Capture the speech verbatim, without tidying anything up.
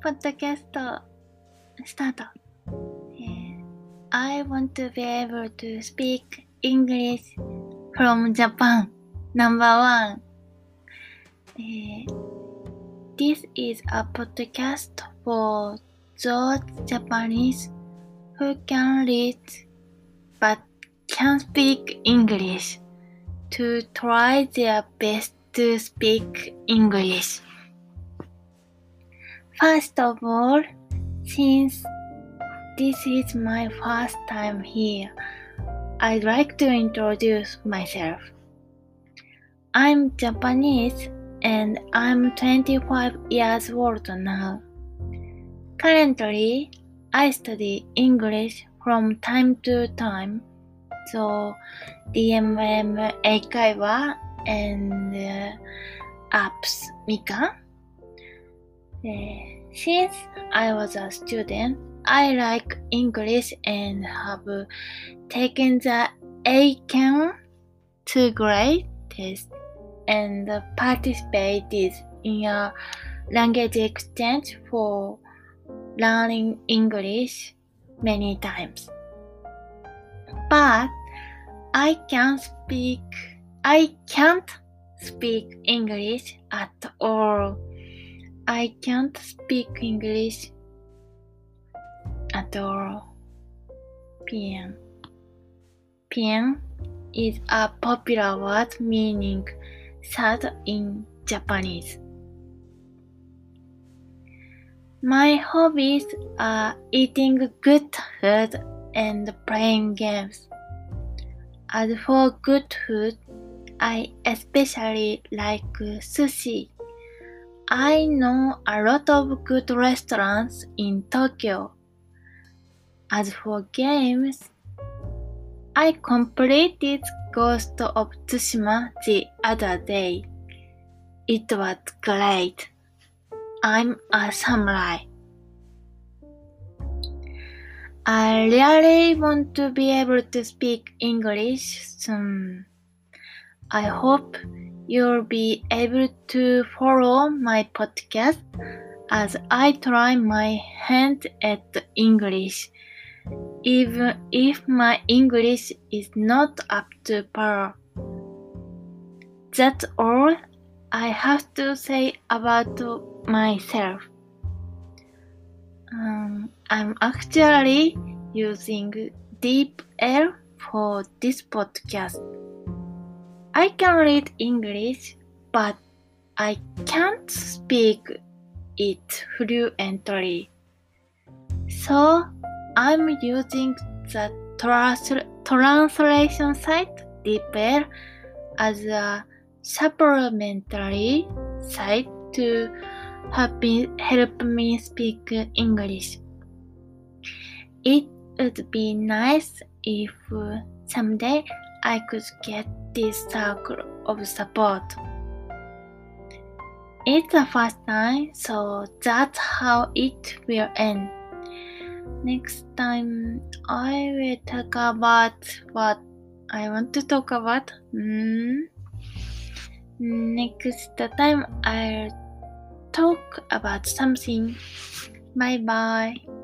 ポッドキャストスタート、えー、I want to be able to speak English from Japan number one、えー、This is a podcast for those Japanese who can read but can't speak English to try their best to speak English. First of all, since this is my first time here, I'd like to introduce myself. I'm Japanese and I'm twenty-five years old now. Currently, I study English from time to time, so ディーエムエム 英会話 and、uh, apps みかん。Since I was a student, I like English and have taken the A C A N two grade test and participated in a language exchange for learning English many times. But I can't speak, I can't speak English at all.I can't speak English at all. Pien. Pien is a popular word meaning sad in Japanese. My hobbies are eating good food and playing games. As for good food, I especially like sushi.I know a lot of good restaurants in Tokyo. As for games, I completed Ghost of Tsushima the other day. It was great. I'm a samurai. I really want to be able to speak English soon. I hope.You'll be able to follow my podcast as I try my hand at English, even if my English is not up to par. That's all I have to say about myself. Um, I'm actually using DeepL for this podcast.I can read English, but I can't speak it fluently. So I'm using the trans- translation site DeepL as a supplementary site to help me, help me speak English. It would be nice if someday I could get.This circle of support. It's the first time, so that's how it will end. Next time, I will talk about what I want to talk about. Mm. Next time, I'll talk about something. Bye bye.